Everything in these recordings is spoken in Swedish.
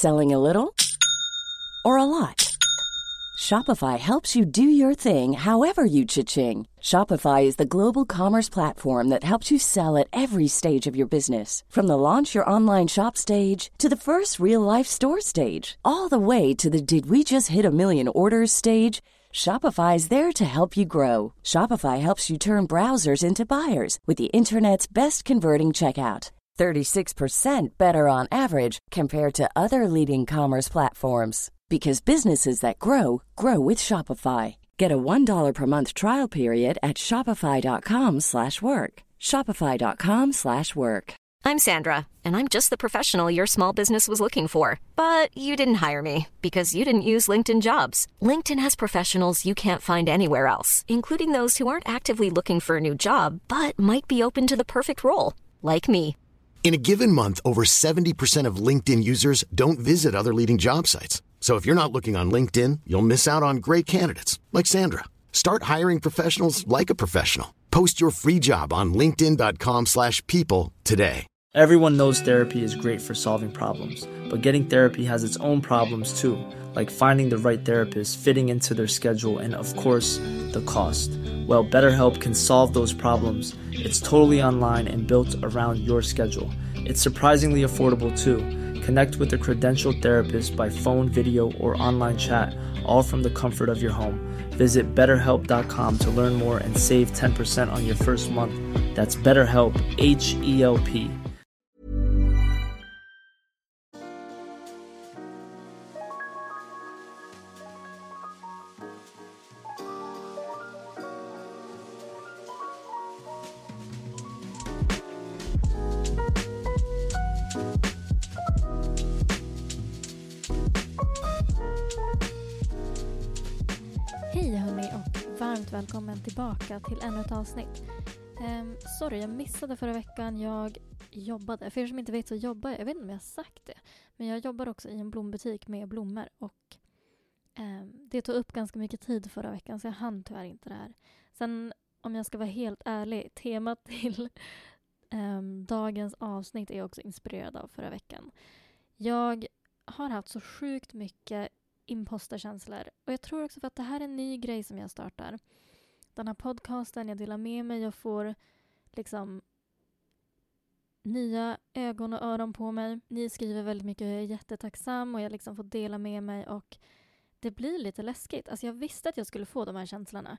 Selling a little or a lot? Shopify helps you do your thing however you cha-ching. Shopify is the global commerce platform that helps you sell at every stage of your business. From the launch your online shop stage to the first real-life store stage, all the way to the did we just hit a million orders stage. Shopify is there to help you grow. Shopify helps you turn browsers into buyers with the internet's best converting checkout. 36% better on average compared to other leading commerce platforms. Because businesses that grow, grow with Shopify. Get a $1 per month trial period at shopify.com/work. Shopify.com/work. I'm Sandra, and I'm just the professional your small business was looking for. But you didn't hire me because you didn't use LinkedIn Jobs. LinkedIn has professionals you can't find anywhere else, including those who aren't actively looking for a new job, but might be open to the perfect role, like me. In a given month, over 70% of LinkedIn users don't visit other leading job sites. So if you're not looking on LinkedIn, you'll miss out on great candidates like Sandra. Start hiring professionals like a professional. Post your free job on linkedin.com/people today. Everyone knows therapy is great for solving problems, but getting therapy has its own problems too, like finding the right therapist, fitting into their schedule, and of course, the cost. Well, BetterHelp can solve those problems. It's totally online and built around your schedule. It's surprisingly affordable too. Connect with a credentialed therapist by phone, video, or online chat, all from the comfort of your home. Visit BetterHelp.com to learn more and save 10% on your first month. That's BetterHelp, H-E-L-P. Hej hörni och varmt välkommen tillbaka till ännu ett avsnitt. Sorry, jag missade förra veckan. Jag jobbade, för er som inte vet så jobbar jag vet inte om jag har sagt det, men jag jobbar också i en blombutik med blommor och det tog upp ganska mycket tid förra veckan så jag hann tyvärr inte det här. Sen om jag ska vara helt ärlig, temat till dagens avsnitt är också inspirerad av förra veckan. Jag har haft så sjukt mycket imposterkänslor. Och jag tror också för att det här är en ny grej som jag startar. Den här podcasten, jag delar med mig, jag får liksom nya ögon och öron på mig. Ni skriver väldigt mycket och jag är jättetacksam och jag liksom får dela med mig och det blir lite läskigt. Alltså jag visste att jag skulle få de här känslorna.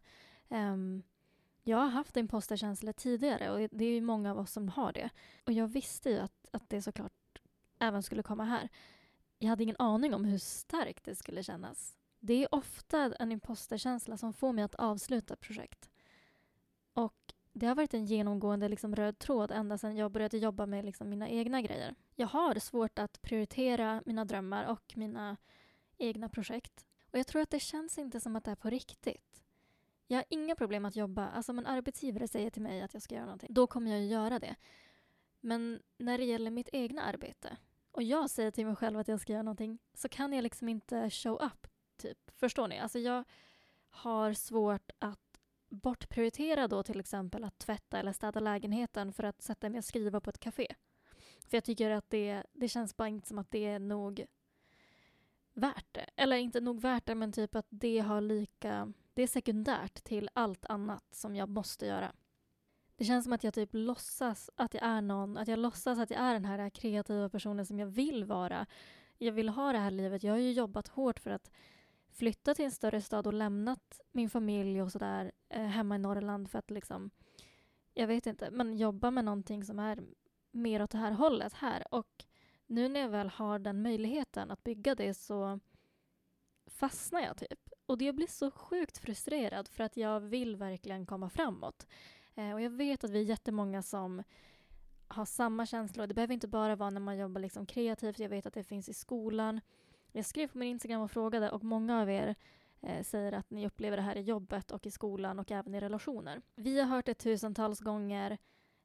Jag har haft imposterkänslor tidigare och det är ju många av oss som har det. Och jag visste ju att det såklart även skulle komma här. Jag hade ingen aning om hur starkt det skulle kännas. Det är ofta en imposterkänsla som får mig att avsluta projekt. Och det har varit en genomgående liksom röd tråd ända sedan jag började jobba med liksom mina egna grejer. Jag har svårt att prioritera mina drömmar och mina egna projekt. Och jag tror att det känns inte som att det är på riktigt. Jag har inga problem att jobba. Alltså om en arbetsgivare säger till mig att jag ska göra någonting, då kommer jag ju göra det. Men när det gäller mitt egna arbete och jag säger till mig själv att jag ska göra någonting så kan jag liksom inte show up, typ. Förstår ni? Alltså jag har svårt att bortprioritera då till exempel att tvätta eller städa lägenheten för att sätta mig och skriva på ett café. För jag tycker att det känns bara inte som att det är nog värt det. Eller inte nog värt det, men typ att det är sekundärt till allt annat som jag måste göra. Det känns som att jag typ låtsas att jag är någon. Att jag låtsas att jag är den här kreativa personen som jag vill vara. Jag vill ha det här livet. Jag har ju jobbat hårt för att flytta till en större stad och lämnat min familj och sådär hemma i Norrland för att liksom, jag vet inte, men jobba med någonting som är mer åt det här hållet här. Och nu när jag väl har den möjligheten att bygga det så fastnar jag typ. Och det blir så sjukt frustrerad för att jag vill verkligen komma framåt. Och jag vet att vi är jättemånga som har samma känslor. Det behöver inte bara vara när man jobbar liksom kreativt. Jag vet att det finns i skolan. Jag skrev på min Instagram och frågade och många av er säger att ni upplever det här i jobbet och i skolan och även i relationer. Vi har hört det tusentals gånger.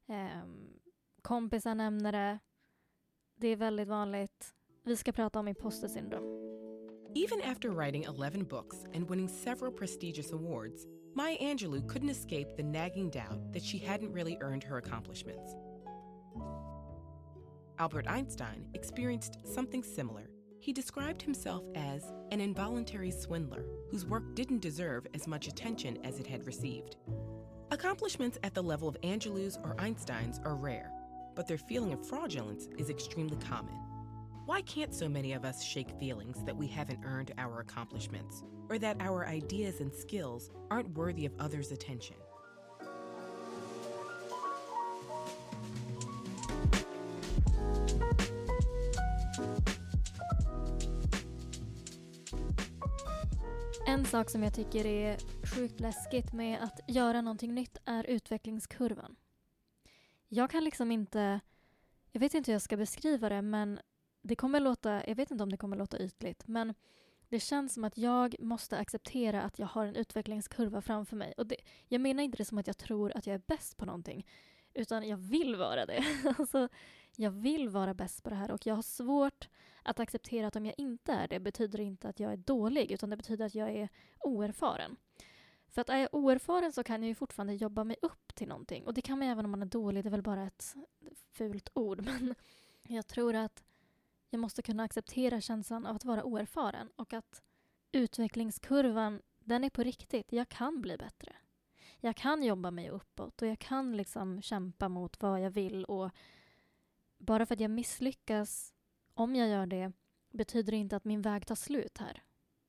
Kompisar nämner det. Det är väldigt vanligt. Vi ska prata om imposter syndrom. Even after writing 11 books and winning several prestigious awards, Maya Angelou couldn't escape the nagging doubt that she hadn't really earned her accomplishments. Albert Einstein experienced something similar. he described himself as an involuntary swindler whose work didn't deserve as much attention as it had received. Accomplishments at the level of Angelou's or Einstein's are rare, but their feeling of fraudulence is extremely common. Why can't so many of us shake feelings that we haven't earned our accomplishments, or that our ideas and skills aren't worthy of others' attention? En sak som jag tycker är sjukt läskigt med att göra någonting nytt är utvecklingskurvan. Jag kan liksom inte, jag vet inte hur jag ska beskriva det, men det kommer låta, jag vet inte om det kommer låta ytligt, men det känns som att jag måste acceptera att jag har en utvecklingskurva framför mig. Och jag menar inte det som att jag tror att jag är bäst på någonting, utan jag vill vara det. Alltså, jag vill vara bäst på det här och jag har svårt att acceptera att om jag inte är det betyder inte att jag är dålig, utan det betyder att jag är oerfaren. För att är jag oerfaren så kan jag ju fortfarande jobba mig upp till någonting. Och det kan man även om man är dålig, det är väl bara ett fult ord. Men jag tror att jag måste kunna acceptera känslan av att vara oerfaren och att utvecklingskurvan, den är på riktigt. Jag kan bli bättre. Jag kan jobba mig uppåt och jag kan liksom kämpa mot vad jag vill, och bara för att jag misslyckas, om jag gör det, betyder det inte att min väg tar slut här.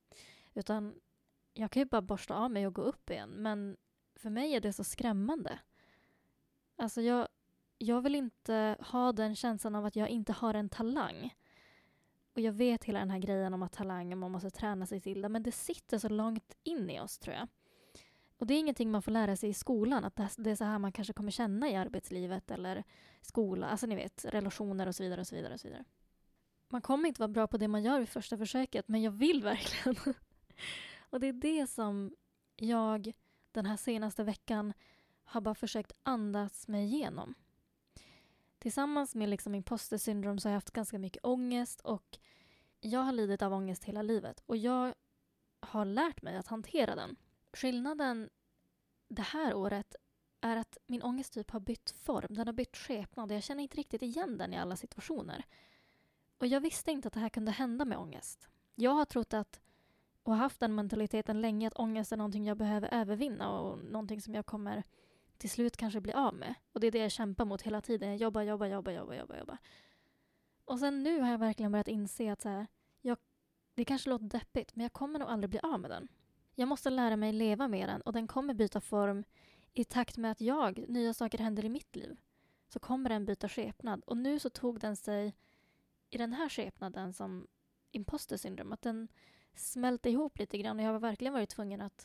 Utan jag kan ju bara borsta av mig och gå upp igen, men för mig är det så skrämmande. Alltså jag vill inte ha den känslan av att jag inte har en talang. Och jag vet hela den här grejen om att talang, man måste träna sig till det, men det sitter så långt in i oss, tror jag. Och det är ingenting man får lära sig i skolan, att det är så här man kanske kommer känna i arbetslivet eller skola, alltså ni vet, relationer och så vidare och så vidare och så vidare. Man kommer inte vara bra på det man gör vid första försöket, men jag vill verkligen. Och det är det som jag den här senaste veckan har bara försökt andas mig igenom. Tillsammans med liksom imposter syndrom så har jag haft ganska mycket ångest, och jag har lidit av ångest hela livet. Och jag har lärt mig att hantera den. Skillnaden det här året är att min ångest typ har bytt form. Den har bytt skepnad. Jag känner inte riktigt igen den i alla situationer. Och jag visste inte att det här kunde hända med ångest. Jag har trott att, och haft den mentaliteten länge, att ångest är någonting jag behöver övervinna och någonting som jag kommer till slut kanske bli av med. Och det är det jag kämpar mot hela tiden. Jag jobbar. Och sen nu har jag verkligen börjat inse att så här, det kanske låter deppigt, men jag kommer nog aldrig bli av med den. Jag måste lära mig leva med den, och den kommer byta form i takt med att nya saker händer i mitt liv. Så kommer den byta skepnad. Och nu så tog den sig i den här skepnaden som imposter syndrom, att den smälte ihop lite grann, och jag har verkligen varit tvungen att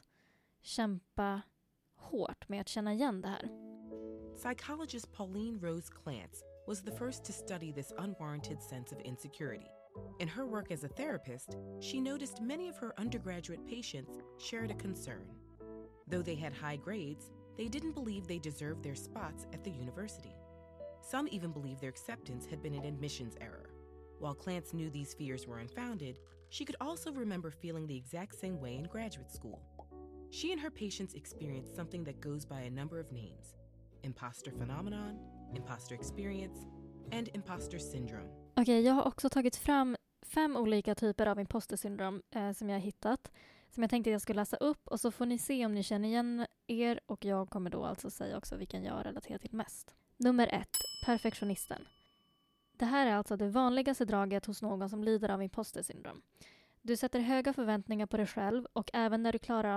kämpa hårt med att känna igen det här. Psychologist Pauline Rose Clance was the first to study this unwarranted sense of insecurity. In her work as a therapist, she noticed many of her undergraduate patients shared a concern. Though they had high grades, they didn't believe they deserved their spots at the university. Some even believed their acceptance had been an admissions error. While Clance knew these fears were unfounded, she could also remember feeling the exact same way in graduate school. She and her patients experienced something that goes by a number of names: imposter phenomenon, imposter experience, and imposter syndrome. Okej, jag har också tagit fram 5 olika typer av imposter syndrom som jag har hittat, som jag tänkte jag skulle läsa upp, och så får ni se om ni känner igen er, och jag kommer då alltså säga också vilken jag relaterar till mest. Nummer 1, perfektionisten. Det här är alltså det vanligaste draget hos någon som lider av imposter syndrom. Du sätter höga förväntningar på dig själv, och även när du klarar av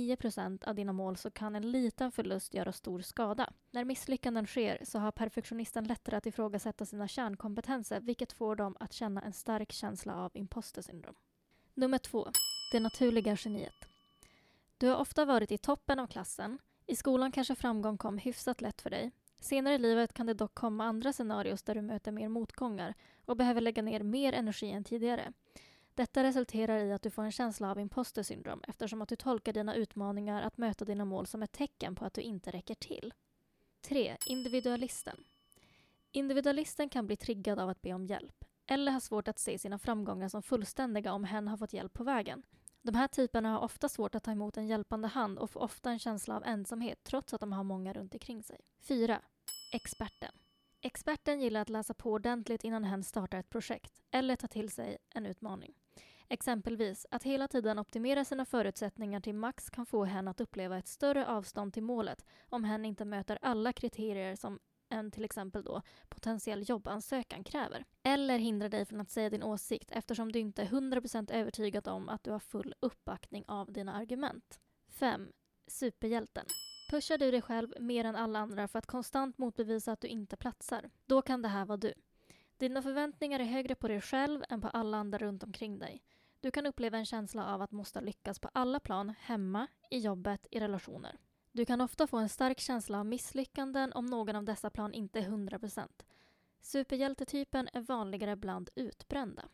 99% av dina mål så kan en liten förlust göra stor skada. När misslyckanden sker så har perfektionisten lättare att ifrågasätta sina kärnkompetenser, vilket får dem att känna en stark känsla av imposter syndrom. Nummer 2. Det naturliga geniet. Du har ofta varit i toppen av klassen. I skolan kanske framgång kom hyfsat lätt för dig. Senare i livet kan det dock komma andra scenarios där du möter mer motgångar och behöver lägga ner mer energi än tidigare. Detta resulterar i att du får en känsla av imposter syndrom, eftersom att du tolkar dina utmaningar att möta dina mål som ett tecken på att du inte räcker till. 3. Individualisten. Individualisten kan bli triggad av att be om hjälp, eller ha svårt att se sina framgångar som fullständiga om hen har fått hjälp på vägen. De här typerna har ofta svårt att ta emot en hjälpande hand och får ofta en känsla av ensamhet trots att de har många runt omkring sig. 4. Experten. Experten gillar att läsa på ordentligt innan hen startar ett projekt eller tar till sig en utmaning. Exempelvis att hela tiden optimera sina förutsättningar till max kan få hen att uppleva ett större avstånd till målet om hen inte möter alla kriterier som en till exempel då potentiell jobbansökan kräver. Eller hindra dig från att säga din åsikt eftersom du inte är 100% övertygad om att du har full uppbackning av dina argument. 5. Superhjälten. Pushar du dig själv mer än alla andra för att konstant motbevisa att du inte platsar? Då kan det här vara du. Dina förväntningar är högre på dig själv än på alla andra runt omkring dig. Du kan uppleva en känsla av att måste lyckas på alla plan, hemma, i jobbet, i relationer. Du kan ofta få en stark känsla av misslyckanden om någon av dessa plan inte är 100%. Superhjältetypen är vanligare bland utbrända.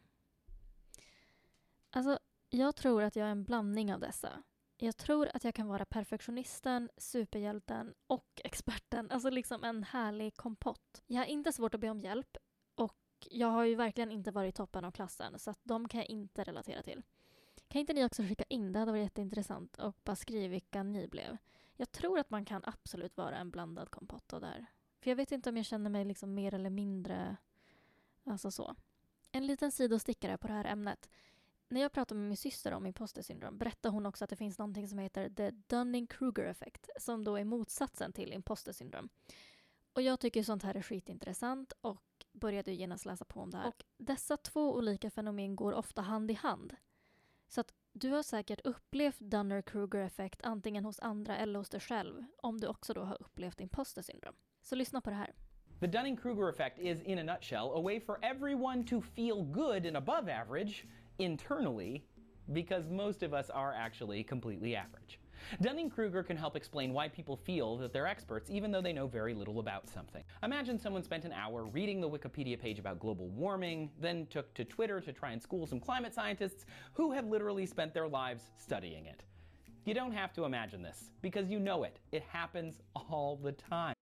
Alltså, jag tror att jag är en blandning av dessa. Jag tror att jag kan vara perfektionisten, superhjälten och experten. Alltså liksom en härlig kompott. Jag har inte svårt att be om hjälp och jag har ju verkligen inte varit toppen av klassen så att de kan jag inte relatera till. Kan inte ni också skicka in? Det hade varit jätteintressant och bara skriva vilka ni blev. Jag tror att man kan absolut vara en blandad kompott och där. För jag vet inte om jag känner mig liksom mer eller mindre alltså så. En liten sidostickare på det här ämnet. När jag pratar med min syster om imposter-syndrom berättar hon också att det finns någonting som heter the Dunning-Kruger-effekt som då är motsatsen till imposter-syndrom. Och jag tycker sånt här är skitintressant och började genast läsa på om det här. Och dessa två olika fenomen går ofta hand i hand. Så att du har säkert upplevt Dunning-Kruger-effekt antingen hos andra eller hos dig själv om du också då har upplevt imposter-syndrom. Så lyssna på det här. The Dunning-Kruger effect is, in a nutshell, a way for everyone to feel good and above average internally, because most of us are actually completely average. Dunning-Kruger can help explain why people feel that they're experts even though they know very little about something. Imagine someone spent an hour reading the Wikipedia page about global warming, then took to Twitter to try and school some climate scientists who have literally spent their lives studying it. You don't have to imagine this, because you know it. It happens all the time.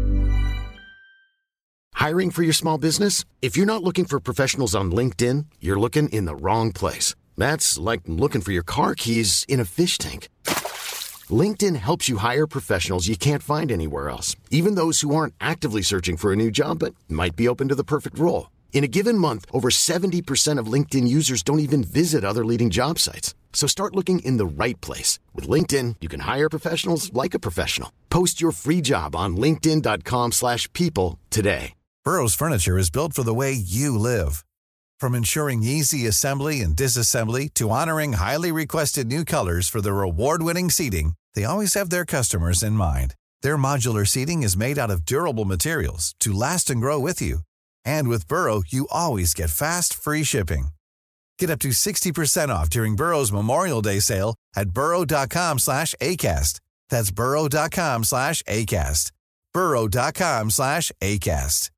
Hiring for your small business? If you're not looking for professionals on LinkedIn, you're looking in the wrong place. That's like looking for your car keys in a fish tank. LinkedIn helps you hire professionals you can't find anywhere else, even those who aren't actively searching for a new job but might be open to the perfect role. In a given month, over 70% of LinkedIn users don't even visit other leading job sites. So start looking in the right place. With LinkedIn, you can hire professionals like a professional. Post your free job on linkedin.com/people today. Burrow's furniture is built for the way you live. From ensuring easy assembly and disassembly to honoring highly requested new colors for their award-winning seating, they always have their customers in mind. Their modular seating is made out of durable materials to last and grow with you. And with Burrow, you always get fast, free shipping. Get up to 60% off during Burrow's Memorial Day sale at burrow.com/ACAST. That's burrow.com/ACAST. burrow.com/ACAST.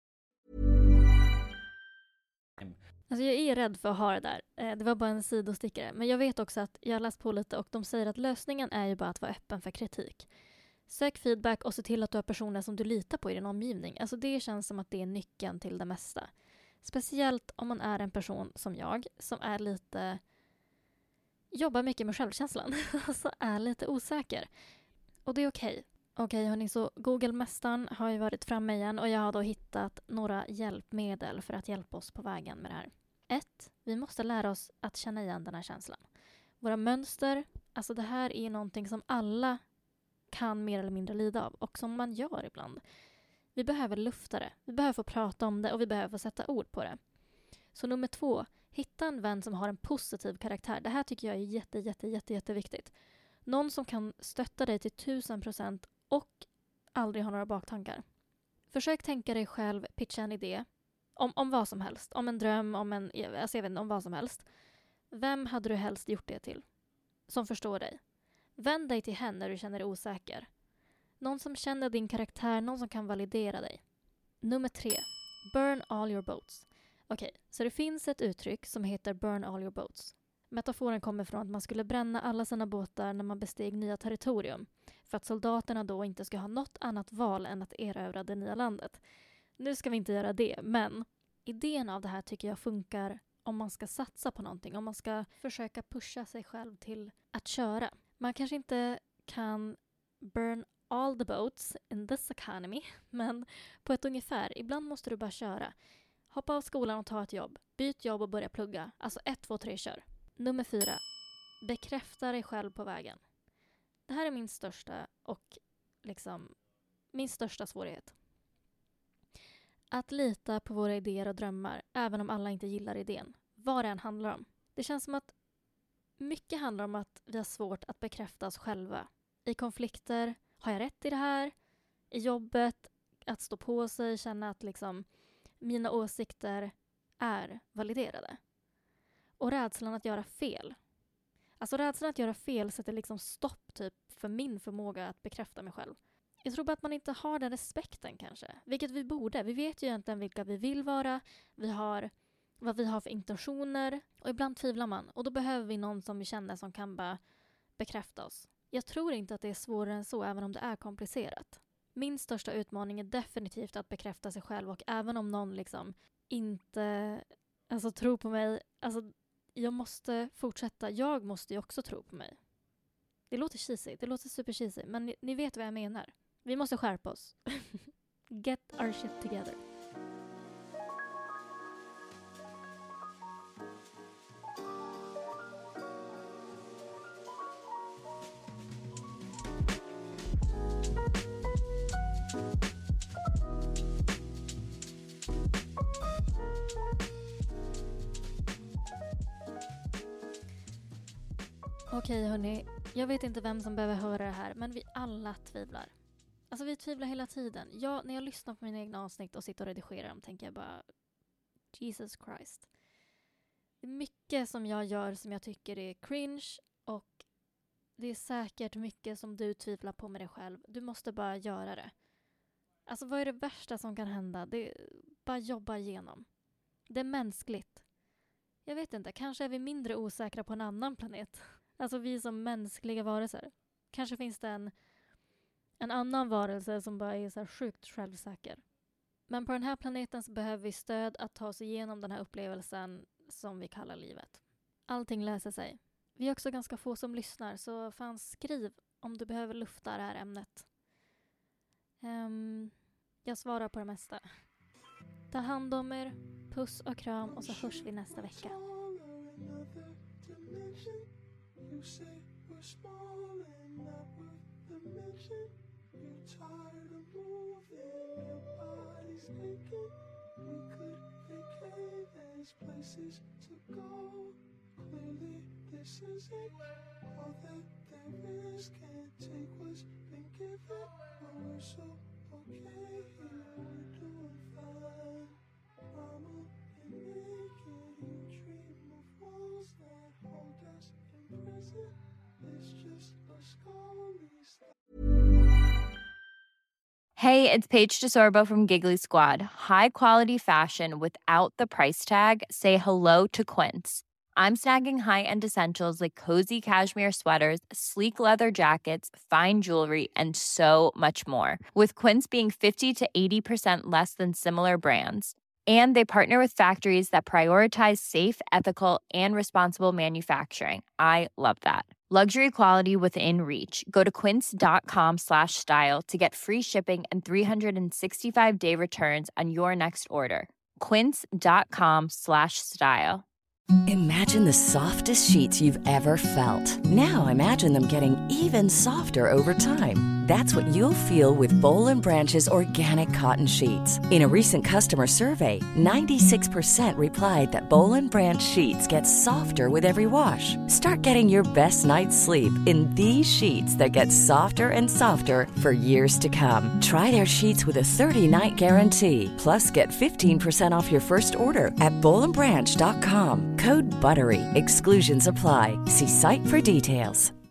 Alltså jag är rädd för att ha det där. Det var bara en sidostickare. Men jag vet också att jag har läst på lite och de säger att lösningen är ju bara att vara öppen för kritik. Sök feedback och se till att du har personer som du litar på i din omgivning. Alltså det känns som att det är nyckeln till det mesta. Speciellt om man är en person som jag, som är lite... jobbar mycket med självkänslan. Alltså är lite osäker. Och det är okej. Okej hörni, så Google-mästaren har ju varit framme igen och jag har då hittat några hjälpmedel för att hjälpa oss på vägen med det här. 1. Vi måste lära oss att känna igen den här känslan. Våra mönster, alltså det här är någonting som alla kan mer eller mindre lida av och som man gör ibland. Vi behöver lufta det, vi behöver få prata om det och vi behöver få sätta ord på det. Så nummer 2, hitta en vän som har en positiv karaktär. Det här tycker jag är jätteviktigt. Någon som kan stötta dig till 1000% och aldrig ha några baktankar. Försök tänka dig själv, pitcha en idé om vad som helst. Om en dröm, om vad som helst. Vem hade du helst gjort det till? Som förstår dig. Vänd dig till henne när du känner dig osäker. Någon som känner din karaktär, någon som kan validera dig. Nummer 3. Burn all your boats. Okej, så det finns ett uttryck som heter burn all your boats. Metaforen kommer från att man skulle bränna alla sina båtar när man besteg nya territorium. För att soldaterna då inte ska ha något annat val än att erövra det nya landet. Nu ska vi inte göra det, men idén av det här tycker jag funkar om man ska satsa på någonting. Om man ska försöka pusha sig själv till att köra. Man kanske inte kan burn all the boats in this economy. Men på ett ungefär, ibland måste du bara köra. Hoppa av skolan och ta ett jobb. Byt jobb och börja plugga. Alltså 1, 2, 3, kör. Nummer 4. Bekräfta dig själv på vägen. Det här är min största och min största svårighet. Att lita på våra idéer och drömmar, även om alla inte gillar idén. Vad det än handlar om. Det känns som att mycket handlar om att vi har svårt att bekräfta oss själva. I konflikter, har jag rätt i det här? I jobbet, att stå på sig, känna att mina åsikter är validerade. Och rädslan att göra fel. Alltså rädslan att göra fel sätter stopp typ för min förmåga att bekräfta mig själv. Jag tror bara att man inte har den respekten kanske. Vilket vi borde. Vi vet ju egentligen vilka vi vill vara. Vi har vad vi har för intentioner. Och ibland tvivlar man. Och då behöver vi någon som vi känner som kan bara bekräfta oss. Jag tror inte att det är svårare än så, även om det är komplicerat. Min största utmaning är definitivt att bekräfta sig själv. Och även om någon inte tror på mig. Jag måste fortsätta. Jag måste ju också tro på mig. Det låter cheesy. Det låter super cheesy. Men ni vet vad jag menar. Vi måste skärpa oss. Get our shit together. Okej hörni, jag vet inte vem som behöver höra det här, men vi alla tvivlar. Alltså vi tvivlar hela tiden. När jag lyssnar på mina egna avsnitt och sitter och redigerar dem tänker jag bara Jesus Christ. Det är mycket som jag gör som jag tycker är cringe och det är säkert mycket som du tvivlar på med dig själv. Du måste bara göra det. Alltså vad är det värsta som kan hända? Det är bara jobba igenom. Det är mänskligt. Jag vet inte, kanske är vi mindre osäkra på en annan planet. Alltså vi som mänskliga varelser. Kanske finns det en annan varelse som bara är så här sjukt självsäker. Men på den här planeten så behöver vi stöd att ta oss igenom den här upplevelsen som vi kallar livet. Allting löser sig. Vi är också ganska få som lyssnar, så fan skriv om du behöver lufta det här ämnet. Jag svarar på det mesta. Ta hand om er, puss och kram och så hörs vi nästa vecka. You say we're small and not worth the mention. You're tired of moving, your body's aching. We could vacate, there's places to go. Clearly this isn't all that there is. Can't take what's been given, but we're so okay here, we're doing fine. Mama and naked, you dream of walls that hold us. Hey, it's Paige DeSorbo from Giggly Squad. High quality fashion without the price tag. Say hello to Quince. I'm snagging high-end essentials like cozy cashmere sweaters, sleek leather jackets, fine jewelry, and so much more. With Quince being 50 to 80% less than similar brands. And they partner with factories that prioritize safe, ethical, and responsible manufacturing. I love that. Luxury quality within reach. Go to quince.com/style to get free shipping and 365-day returns on your next order. Quince.com/style. Imagine the softest sheets you've ever felt. Now imagine them getting even softer over time. That's what you'll feel with Boll & Branch's organic cotton sheets. In a recent customer survey, 96% replied that Boll & Branch sheets get softer with every wash. Start getting your best night's sleep in these sheets that get softer and softer for years to come. Try their sheets with a 30-night guarantee. Plus, get 15% off your first order at bollandbranch.com. Code BUTTERY. Exclusions apply. See site for details.